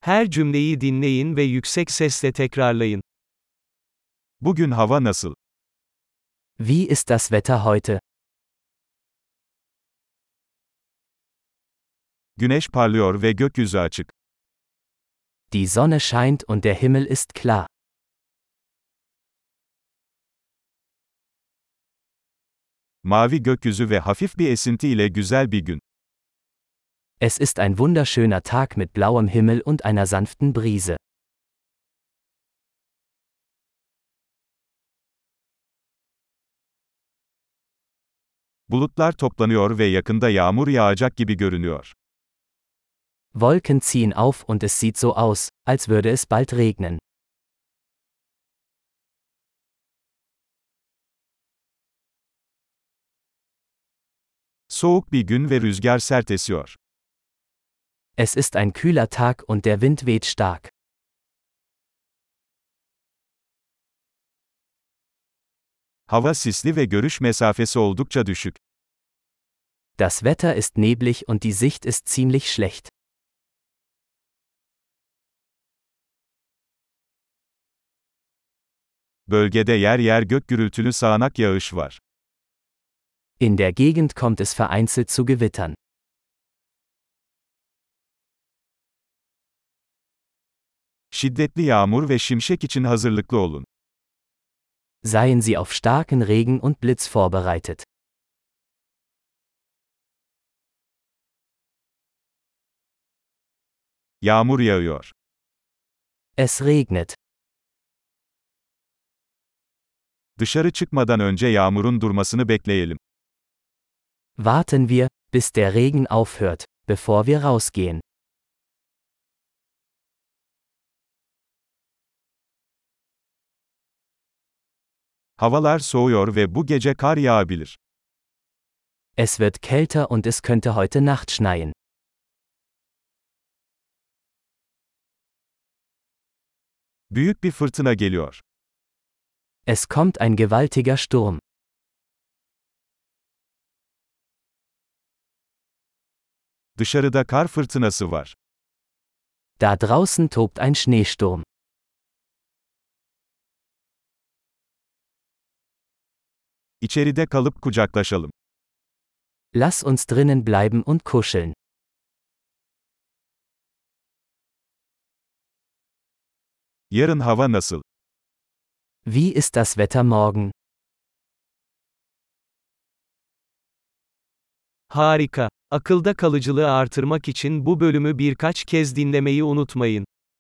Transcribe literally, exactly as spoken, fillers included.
Her cümleyi dinleyin ve yüksek sesle tekrarlayın. Bugün hava nasıl? Wie ist das Wetter heute? Güneş parlıyor ve gökyüzü açık. Die Sonne scheint und der Himmel ist klar. Mavi gökyüzü ve hafif bir esinti ile güzel bir gün. Es ist ein wunderschöner Tag mit blauem Himmel und einer sanften Brise. Bulutlar toplanıyor ve yakında yağmur yağacak gibi görünüyor. Wolken ziehen auf und es sieht so aus, als würde es bald regnen. Soğuk bir gün ve rüzgar sert esiyor. Es ist ein kühler Tag und der Wind weht stark. Hava sisli ve görüş mesafesi oldukça düşük. Das Wetter ist neblig und die Sicht ist ziemlich schlecht. Bölgede yer yer gök gürültülü sağanak yağış var. In der Gegend kommt es vereinzelt zu Gewittern. Şiddetli yağmur ve şimşek için hazırlıklı olun. Seien Sie auf starken Regen und Blitz vorbereitet. Yağmur yağıyor. Es regnet. Dışarı çıkmadan önce yağmurun durmasını bekleyelim. Warten wir, bis der Regen aufhört, bevor wir rausgehen. Havalar soğuyor ve bu gece kar yağabilir. Es wird kälter und es könnte heute Nacht schneien. Büyük bir fırtına geliyor. Es kommt ein gewaltiger Sturm. Dışarıda kar fırtınası var. Da draußen tobt ein Schneesturm. İçeride kalıp kucaklaşalım. Lass uns drinnen bleiben und kuscheln. Yarın hava nasıl? Wie ist das Wetter morgen? Harika. Akılda kalıcılığı artırmak için bu bölümü birkaç kez dinlemeyi unutmayın.